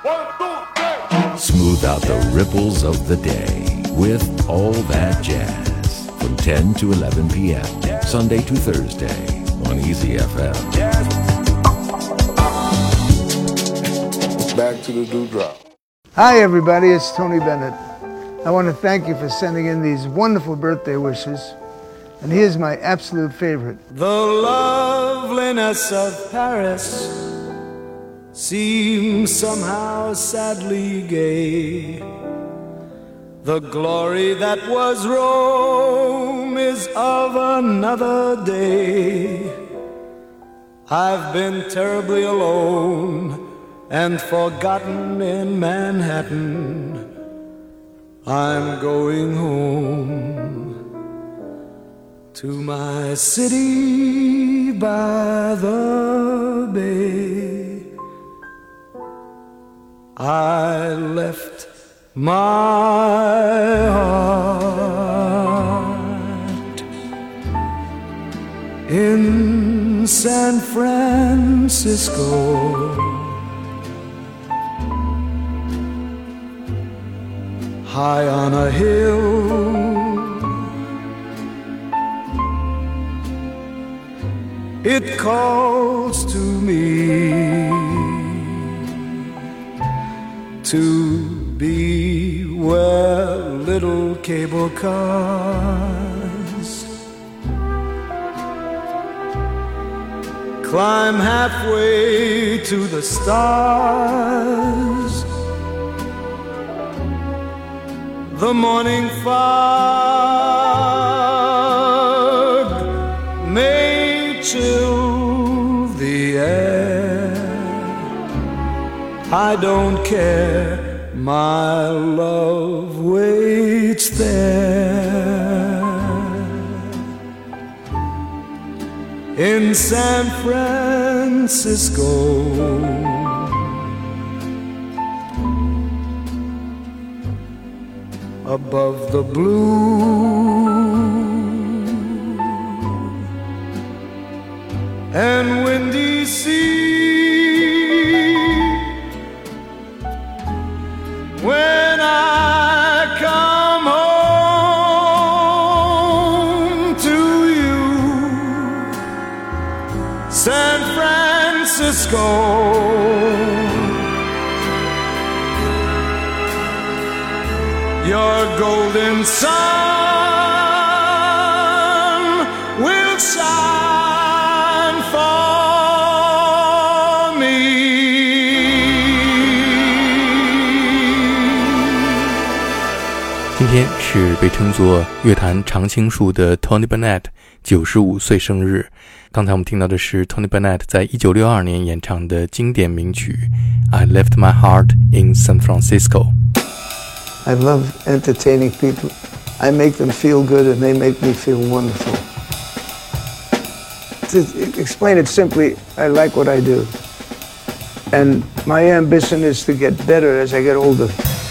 Smooth out the ripples of the day with All That Jazz from 10 to 11 p.m. Sunday to Thursday on Easy FM. Back to the dewdrop. Hi everybody, it's Tony Bennett. I want to thank you for sending in these wonderful birthday wishes. And here's my absolute favorite. The loveliness of Paris seems somehow sadly gay. The glory that was Rome is of another day. I've been terribly alone and forgotten in Manhattan. I'm going home to my city by the bay. I left my heart in San Francisco, high on a hill. It calls to me to be where little cable cars climb halfway to the stars. The morning fog may chill the air. I don't care, my love waits there in San Francisco. Above the blue and windy sea, when I come home to you, San Francisco, your golden sun will shine for me. 今天是被称作乐坛常青树的 Tony Bennett 95岁生日。刚才我们听到的是 Tony Bennett 在1962年演唱的经典名曲 I Left My Heart in San Francisco。I love entertaining people. I make them feel good and they make me feel wonderful. To explain it simply, I like what I do. And my ambition is to get better as I get older.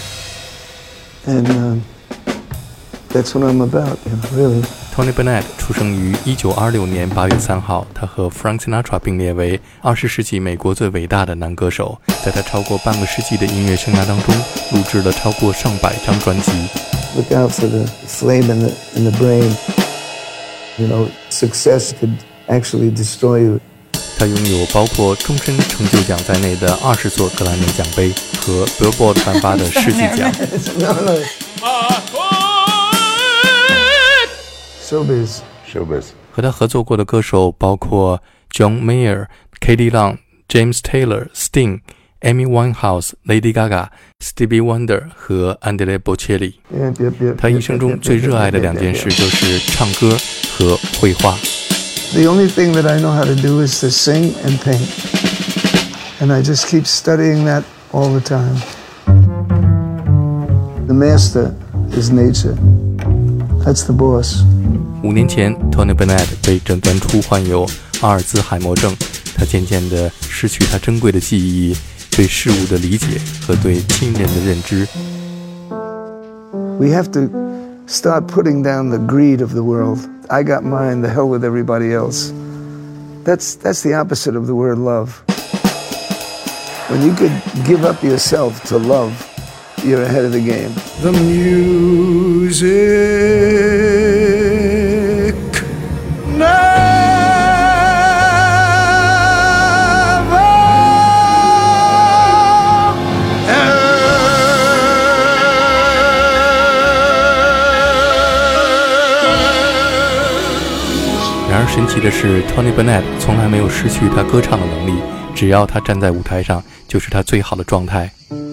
And that's what I'm about, really. Tony Bennett 出生于1926年8月3号，他和 Frank Sinatra 并列为20世纪美国最伟大的男歌手。在他超过半个世纪的音乐生涯当中，录制了超过上百张专辑。 Look out for the flame in the brain. Success could actually destroy you. 他拥有包括终身成就奖在内的20座格莱美奖杯和 Billboard 颁发的世纪奖。 Showbiz. 和他合作过的歌手包括 John Mayer、Katie Long、James Taylor、Sting、Amy Winehouse、Lady Gaga、Stevie Wonder 和 Andrea Bocelli。他一生中最热爱的两件事就是唱歌和绘画。 The only thing that I know how to do is to sing and paint. And I just keep studying that all the time. The master is nature. That's the boss. 5年前 Tony Bennett 被诊断出患有阿尔兹海默症，他渐渐地失去他珍贵的记忆、对事物的理解和对亲人的认知。 We have to start putting down the greed of the world. I got mine, the hell with everybody else. That's the opposite of the word love. When you could give up yourself to love, you're ahead of the game. The music never 然而神奇的是 Tony Bennett 从来没有失去他歌唱的能力，只要他站在舞台上就是他最好的状态。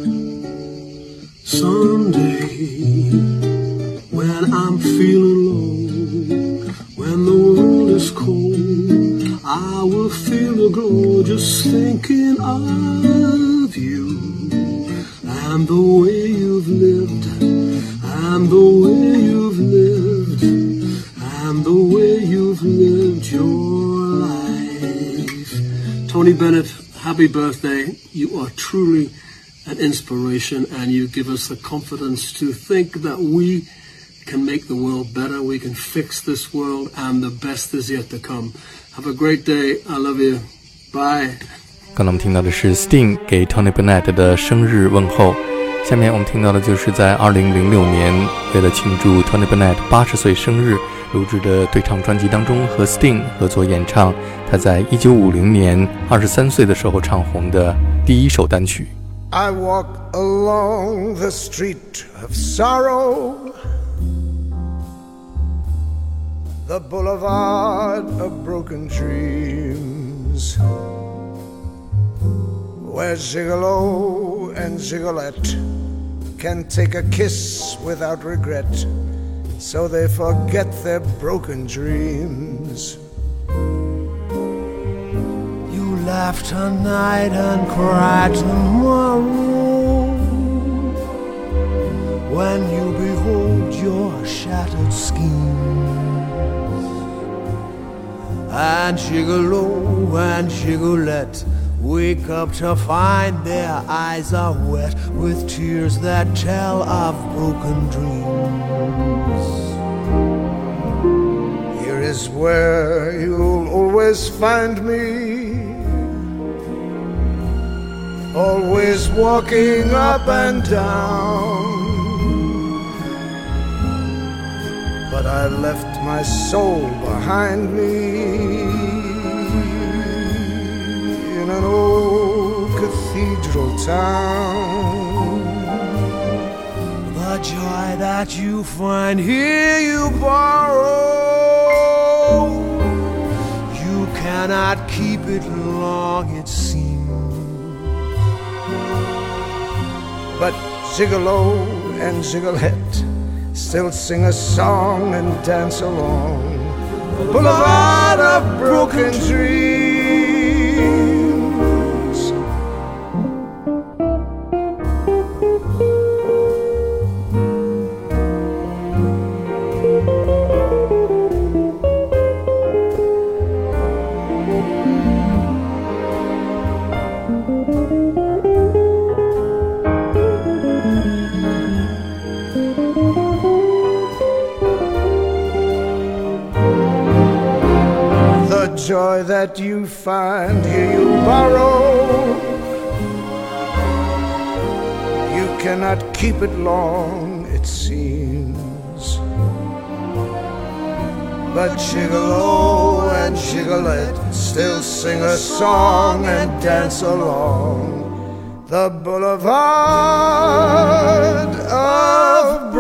Someday when I'm feeling low, when the world is cold, I will feel the glow just thinking of you and the way you've lived, and the way you've lived, and the way you've lived your life. Tony Bennett, happy birthday. You are truly an inspiration, and you give us the confidence to think that we can make the world better, we can fix this world, and the best is yet to come. Have a great day. I love you. Bye. 刚才我们听到的是 Sting 给 Tony Bennett 的生日问候，下面我们听到的就是在2006年为了庆祝 Tony Bennett 80岁生日录制的对唱专辑当中和 Sting 合作演唱他在1950年23岁的时候唱红的第一首单曲。 I walk along the street of sorrow, the boulevard of broken dreams, where Gigolo and Gigolette can take a kiss without regret, so they forget their broken dreams. Laughed tonight and cried tomorrow, when you behold your shattered schemes. And Gigolo and Gigolette wake up to find their eyes are wet with tears that tell of broken dreams. Here is where you'll always find me, always walking up and down. But I left my soul behind me in an old cathedral town. The joy that you find here you borrow, you cannot keep it long, it seems. But Gigolo and Gigolette still sing a song and dance along the boulevard of broken dreams. Joy that you find here you borrow, you cannot keep it long, it seems. But Gigolo and Gigolette still sing a song and dance along the boulevard of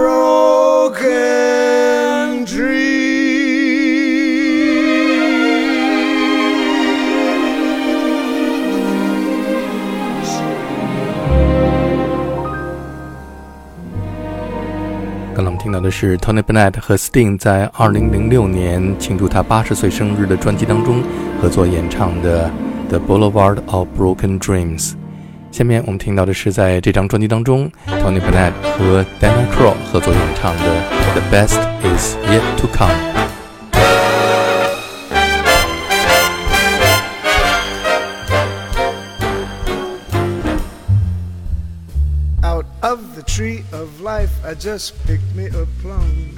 broken dreams. 刚才我们听到的是 Tony Bennett 和 Sting 在2006年庆祝他80岁生日的专辑当中合作演唱的 The Boulevard of Broken Dreams。下面我们听到的是在这张专辑当中 Tony Bennett 和 Dana Crow 合作演唱的 The Best Is Yet to Come。Out of the tree of life, I just picked me a plum.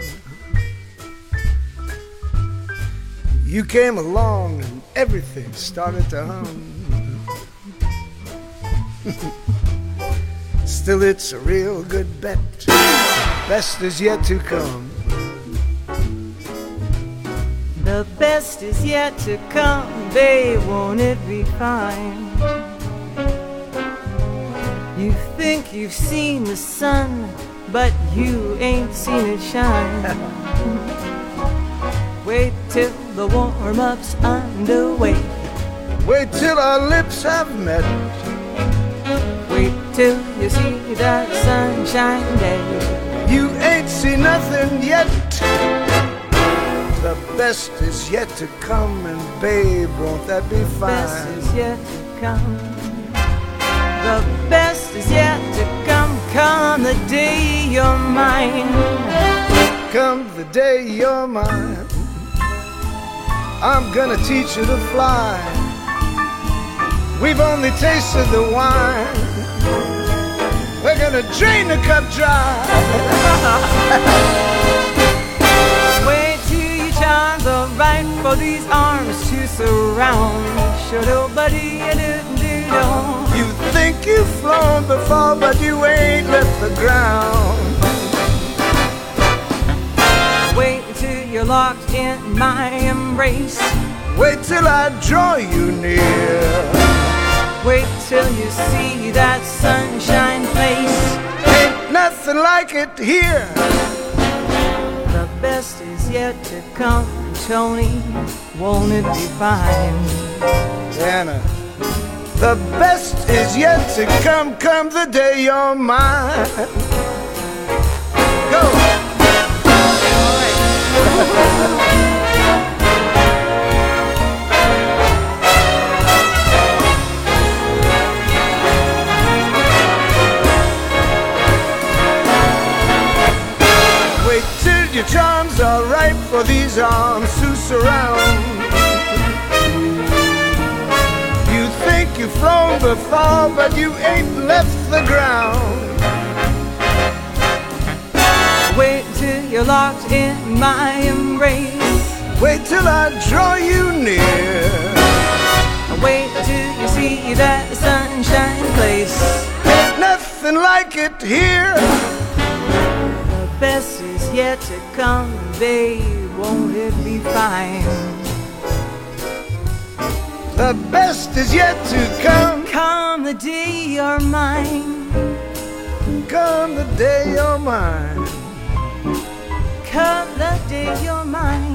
You came along and everything started to hum. Still, it's a real good bet. Best is yet to come. The best is yet to come, babe, won't it be fine? You think you've seen the sun, but you ain't seen it shine. Wait till the warm-up's underway. Wait till our lips have met. Wait till you see that sunshine day. You ain't seen nothing yet. The best is yet to come, and babe, won't that be fine? The best is yet to come. The best is yet to come. Come the day you're mine. Come the day you're mine. I'm gonna teach you to fly. We've only tasted the wine. We're gonna drain the cup dry. Wait till your charms are right for these arms to surround. Sure, nobody do. You think you've flown before, but you ain't left the ground. Wait till you're locked in my embrace. Wait till I draw you near. Wait till you see that sunshine place. Ain't nothing like it here. The best is yet to come, Tony, won't it be fine? Anna, the best is yet to come. Come the day you're mine. Go. All right. Your charms are right for these arms to surround. You think you've flown before, but you ain't left the ground. Wait till you're locked in my embrace. Wait till I draw you near. Wait till you see that sunshine place. Ain't nothing like it here. The best is yet to come, babe, won't it be fine? The best is yet to come. Come the day you're mine. Come the day you're mine. Come the day you're mine.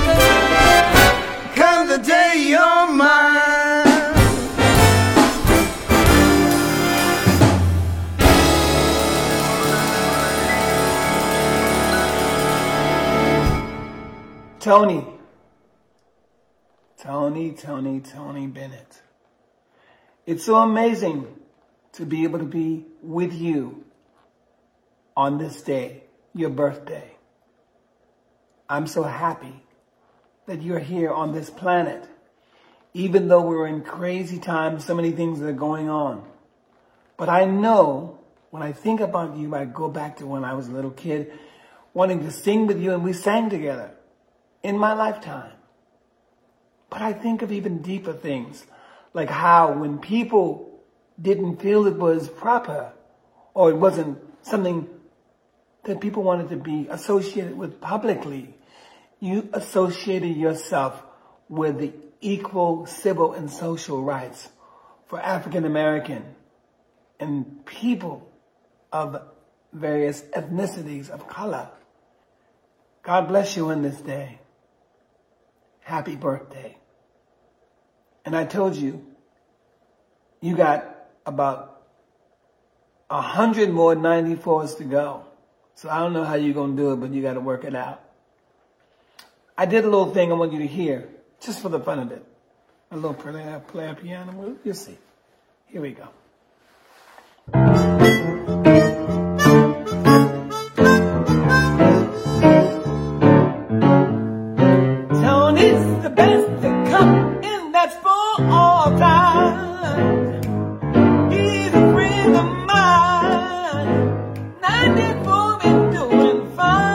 Come the day you're mine. Tony Bennett. It's so amazing to be able to be with you on this day, your birthday. I'm so happy that you're here on this planet. Even though we're in crazy times, so many things are going on. But I know when I think about you, I go back to when I was a little kid, wanting to sing with you, and we sang together in my lifetime. But I think of even deeper things, like how when people didn't feel it was proper, or it wasn't something that people wanted to be associated with publicly, you associated yourself with the equal civil and social rights for African American and people of various ethnicities of color. God bless you on this day. Happy birthday. And I told you, you got about 100 more 94s to go. So I don't know how you're going to do it, but you got to work it out. I did a little thing I want you to hear, just for the fun of it. A little play piano move. You'll see. Here we go. Tony's the best to come, and that's for all time. He's a friend of mine. 94 and doing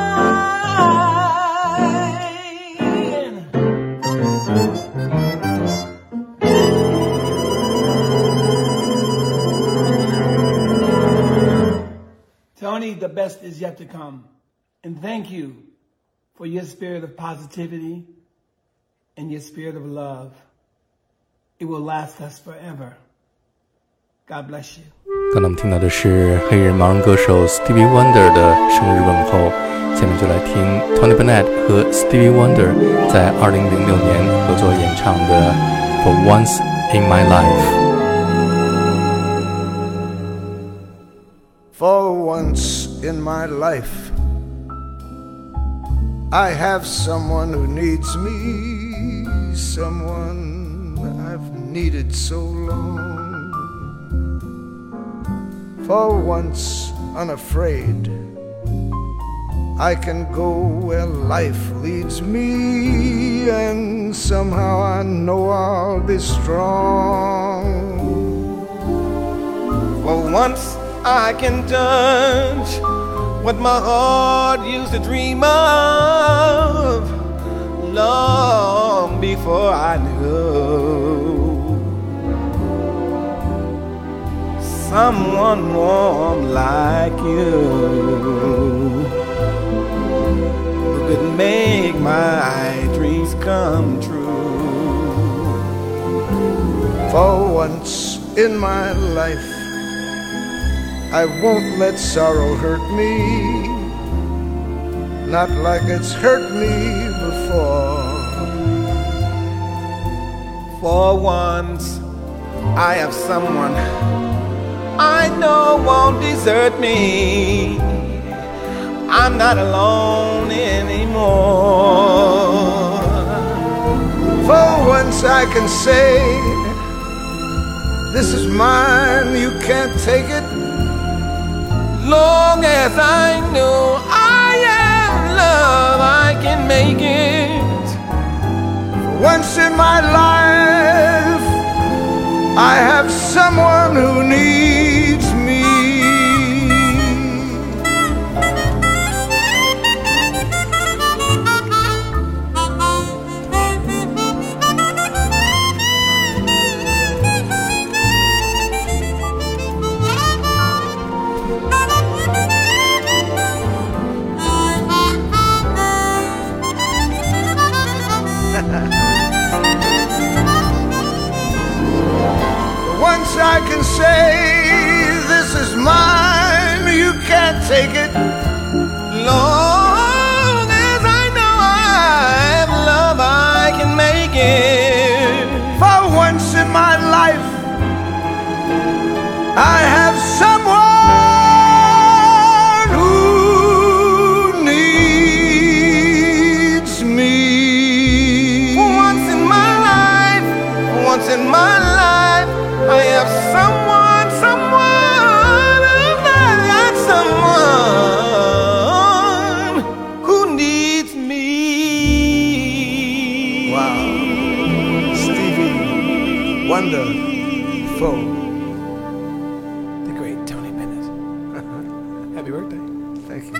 fine. Tony, the best is yet to come. And thank you for your spirit of positivity and your spirit of love. It will last us forever. God bless you. 刚才我们听到的是黑人盲人歌手 Stevie Wonder 的生日问候，下面就来听 Tony Bennett 和 Stevie Wonder 在2006年合作演唱的 For Once in My Life。For once in my life, I have someone who needs me, someone I've needed so long. For once unafraid, I can go where life leads me, and somehow I know I'll be strong. For once I can touch what my heart used to dream of long before I knew someone warm like you who could make my dreams come true. For once in my life, I won't let sorrow hurt me, not like it's hurt me before. For once, I have someone I know won't desert me. I'm not alone anymore. For once I can say, this is mine, you can't take it. Long as I know I am love, I can make it. For once in my life, I have someone who needs me. Once I can say, this is mine, you can't take it. Long as I know I have love, I can make it. For once in my life, I have someone who needs me. For once in my life, for once in my life, I have someone, I've got someone who needs me. Wow, Stevie Wonder, the great Tony Bennett. Happy birthday. Thank you.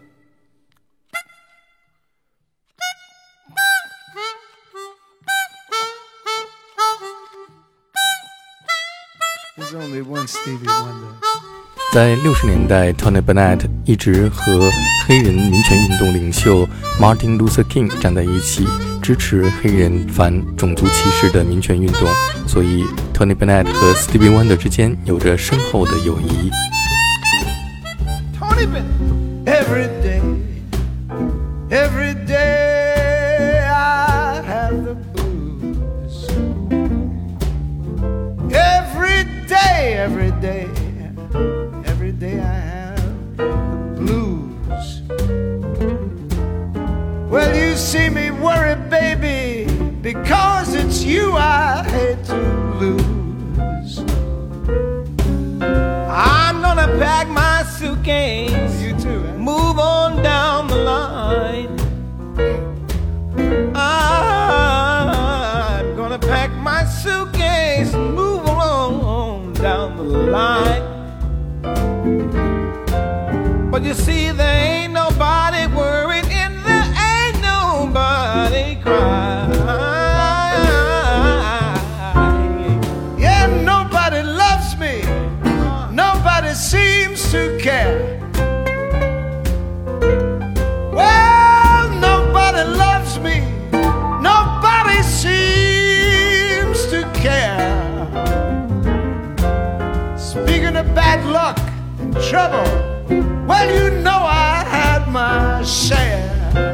There's only one Stevie Wonder. 在60年代 Tony Bennett 一直和黑人民权运动领袖 Martin Luther King 站在一起，支持黑人反种族歧视的民权运动，所以 Tony Bennett 和 Stevie Wonder 之间有着深厚的友谊。 Tony Bennett, every day I have the blues. Every day I have the blues. Well, you see me worry, baby, because it's you I hate to lose. I'm gonna pack my suitcase, you too, move on down the line. I'm gonna pack my suitcase, move on down the line. But you see, there ain't nobody worried and there ain't nobody crying. Yeah, nobody loves me, nobody seems to care. in trouble, well, you know I had my share.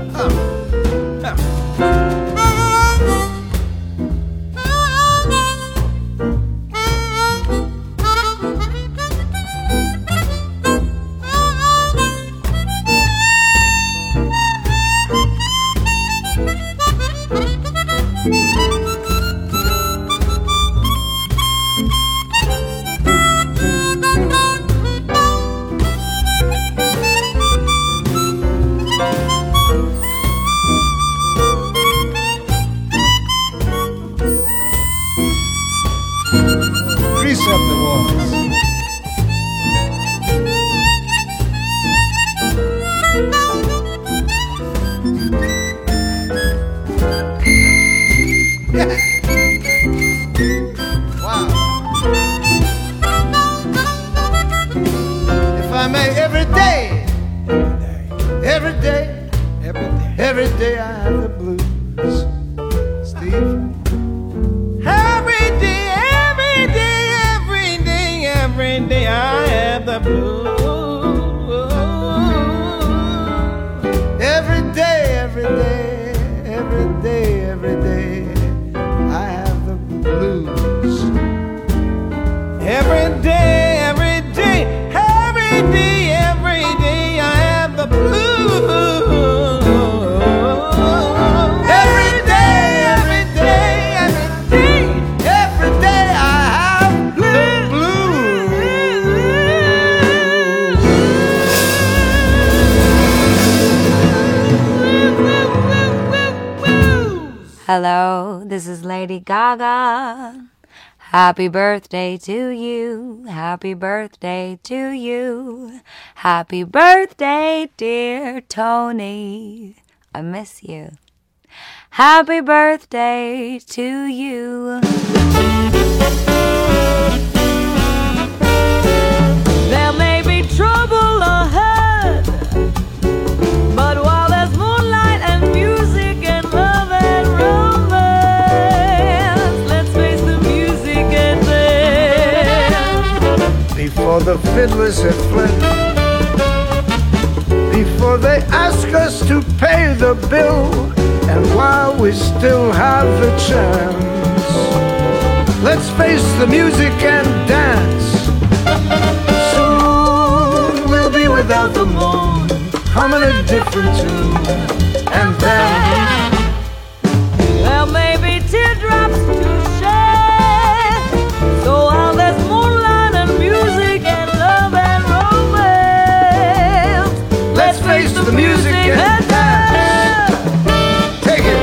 Every day I have the blues, Steve. Every day I have the blues. Every day I have the blues. Every day I have the blues. Hello, this is Lady Gaga. Happy birthday to you. Happy birthday to you. Happy birthday, dear Tony. I miss you. Happy birthday to you. There may be trouble ahead, but while there's moonlight and music and love and romance, let's face the music and dance. Before the fiddlers have fled, before they ask us to pay the bill, and while we still have the chance, let's face the music and dance. Soon we'll be without the moon, humming a different tune, and then there may be teardrops to shed, so while there's moonlight and music and love and romance, let's face the music and dance. Take it.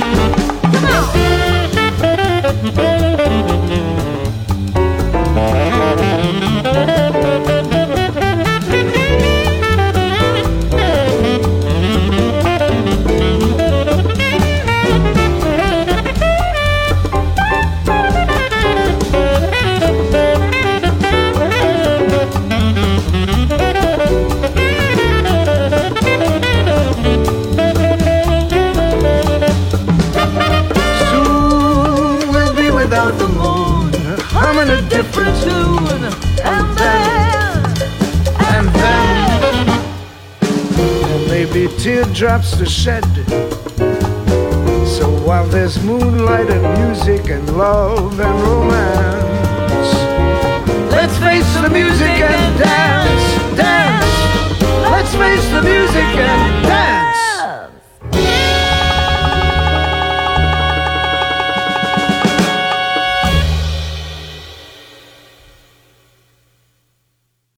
A different tune, and then there may be teardrops to shed. So while there's moonlight and music and love and romance, let's face the music and dance.